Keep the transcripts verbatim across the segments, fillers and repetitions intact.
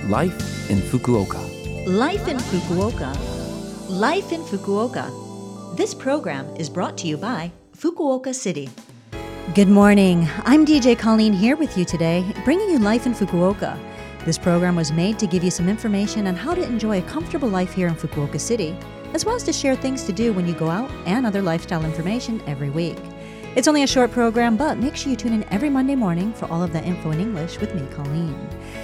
Life in Fukuoka. Life in Fukuoka. Life in Fukuoka. This program is brought to you by Fukuoka City. Good morning. I'm D J Colleen here with you today, bringing you Life in Fukuoka. This program was made to give you some information on how to enjoy a comfortable life here in Fukuoka City, as well as to share things to do when you go out and other lifestyle information every week. It's only a short program, but make sure you tune in every Monday morning for all of that info in English with me, Colleen.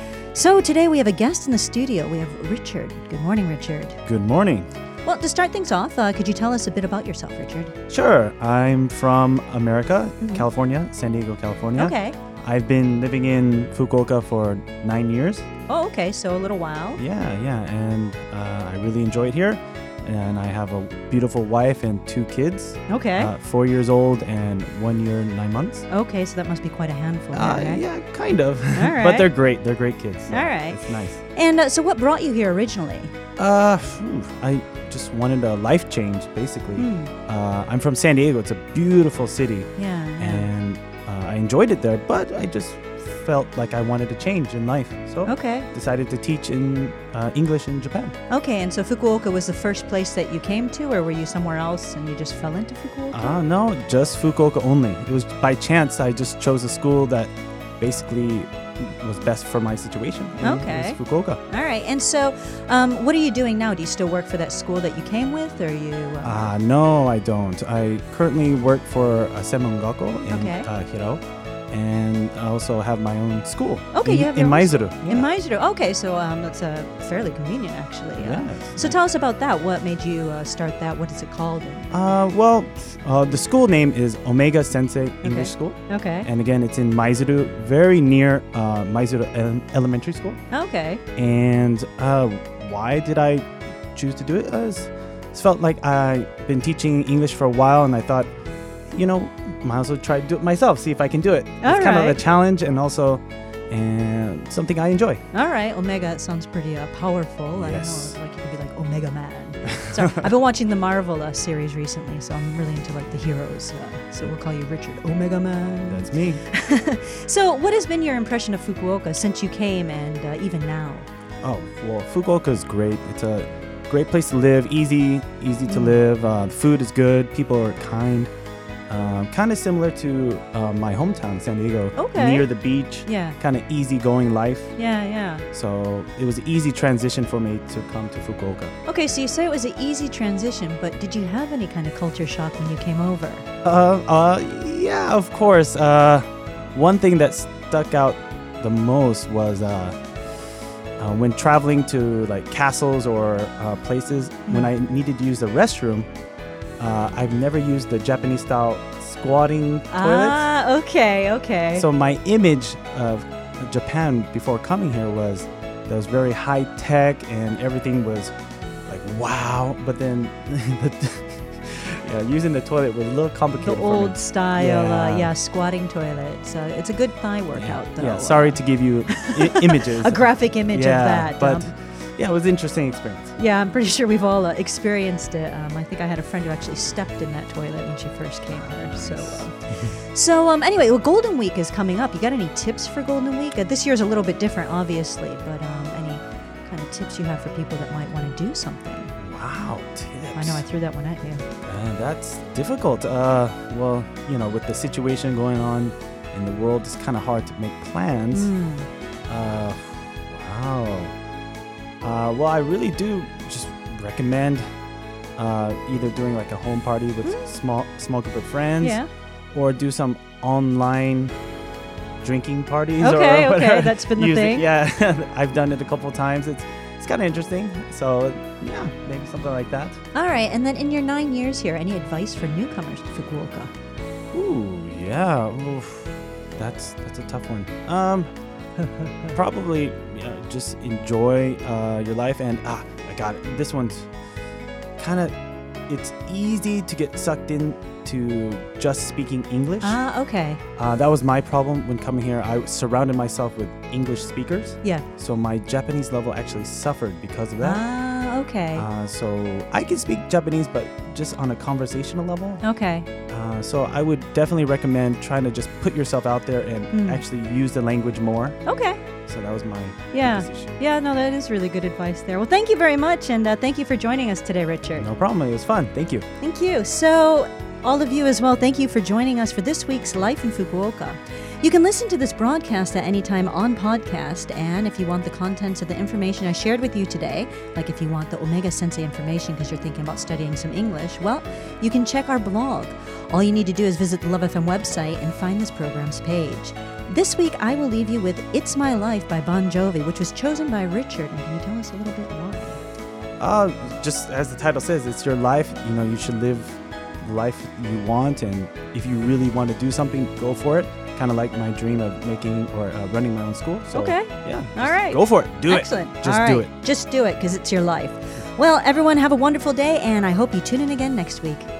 So today we have a guest in the studio. We have Richard. Good morning, Richard. Good morning. Well, to start things off, uh, could you tell us a bit about yourself, Richard? Sure. I'm from America, Mhm. California, San Diego, California. Okay. I've been living in Fukuoka for nine years. Oh, okay. So a little while. Yeah, yeah. And uh, I really enjoy it here. And I have a beautiful wife and two kids. Okay. Uh, four years old and one year, nine months. Okay, so that must be quite a handful. Uh, there, right? Yeah, kind of. All right. But they're great. They're great kids. so All right. It's nice. And uh, so what brought you here originally? Uh, phew, I just wanted a life change, basically. Hmm. Uh, I'm from San Diego. It's a beautiful city. Yeah. yeah. And uh, I enjoyed it there, but I just felt like I wanted to change in life. So Okay. decided to teach in uh, English in Japan. Okay, and so Fukuoka was the first place that you came to, or were you somewhere else and you just fell into Fukuoka? Uh, no, just Fukuoka only. It was by chance I just chose a school that basically was best for my situation. and Okay. It was Fukuoka. All right, and so um, what are you doing now? Do you still work for that school that you came with, or you... Um, Uh, no, I don't. I currently work for a Senmon Gakko in Okay. uh, Hirao. And I also have my own school. Okay, in, you have in your own Maizuru. In Yeah. Maizuru. Okay, so um, that's uh, fairly convenient, actually. Uh, Yes. So tell us about that. What made you uh, start that? What is it called? Uh, well, uh, the school name is Omega Sensei English School. Okay. And again, it's in Maizuru, very near uh, Maizuru Ele- Elementary School. Okay. And uh, why did I choose to do it? Uh, it's- it felt like I've been teaching English for a while, and I thought, you know, might as well try to do it myself, see if I can do it. All it's kind of right. a challenge and also and something I enjoy. All right. Omega, it sounds pretty uh, powerful. I Yes. don't know, like you could be like Omega Man. So I've been watching the Marvel uh, series recently, so I'm really into like the heroes. Uh, so we'll call you Richard Omega Man. That's me. So what has been your impression of Fukuoka since you came and uh, even now? Oh, well, Fukuoka is great. It's a great place to live, easy, easy to Mm. live. Uh, the food is good, people are kind. Um, kind of similar to uh, my hometown, San Diego. Okay. Near the beach, Yeah. kind of easygoing life. Yeah, yeah. So it was an easy transition for me to come to Fukuoka. Okay, so you say it was an easy transition, but did you have any kind of culture shock when you came over? Uh, uh, yeah, of course. Uh, one thing that stuck out the most was uh, uh, when traveling to like castles or uh, places, when I needed to use the restroom, uh, I've never used the Japanese style squatting toilets. Ah, okay, okay. So my image of Japan before coming here was that it was very high tech and everything was like wow. But then the, yeah, using the toilet was a little the complicated. for me. old style, Yeah. uh, yeah, squatting toilet. So it's a good thigh workout, Yeah, though. yeah, sorry to give you I- images. A graphic image yeah, of that. but um, yeah, it was an interesting experience. yeah, I'm pretty sure we've all uh, experienced it. Um, I think I had a friend who actually stepped in that toilet when she first came here. So, um, so um, anyway, well, Golden Week is coming up. You got any tips for Golden Week? Uh, this year's a little bit different, obviously, but um, any kind of tips you have for people that might want to do something? Wow, tips. I know I threw that one at you. Uh, that's difficult. Uh, well, you know, with the situation going on in the world, it's kind of hard to make plans. Mm. Uh, wow. Uh, well, I really do just recommend uh, either doing like a home party with small small group of friends, Yeah. or do some online drinking parties. Okay, or okay, whatever. that's been the Use it- thing. Yeah, I've done it a couple times. It's it's kind of interesting. So yeah, maybe something like that. All right, and then in your nine years here, any advice for newcomers to Fukuoka? Ooh, yeah. Oof. That's that's a tough one. Um, probably yeah, just enjoy uh, your life. And ah, I got it. This one's kind of. It's easy to get sucked into just speaking English. Ah, okay. Uh, that was my problem when coming here. I surrounded myself with English speakers, Yeah. so my Japanese level actually suffered because of that. Ah, okay. Uh, so I can speak Japanese, but just on a conversational level. Okay. Uh, so I would definitely recommend trying to just put yourself out there and Mm. actually use the language more. Okay. So So that was my Yeah. decision. Yeah, no, that is really good advice there. Well, thank you very much, and uh, thank you for joining us today, Richard. No problem. It was fun. Thank you. Thank you. So, all of you as well, thank you for joining us for this week's Life in Fukuoka. You can listen to this broadcast at any time on podcast, and if you want the contents of the information I shared with you today, like if you want the Omega Sensei information because you're thinking about studying some English, well, you can check our blog. All you need to do is visit the Love F M website and find this program's page. This week, I will leave you with It's My Life by Bon Jovi, which was chosen by Richard. And can you tell us a little bit why? Uh, just as the title says, it's your life. You know, you should live the life you want, and if you really want to do something, go for it. Kind of like my dream of making or uh, running my own school. So, okay. Yeah. All right. Go for it. Do Excellent. it. Just All do right. it. Just do it because it's your life. Well, everyone, have a wonderful day, and I hope you tune in again next week.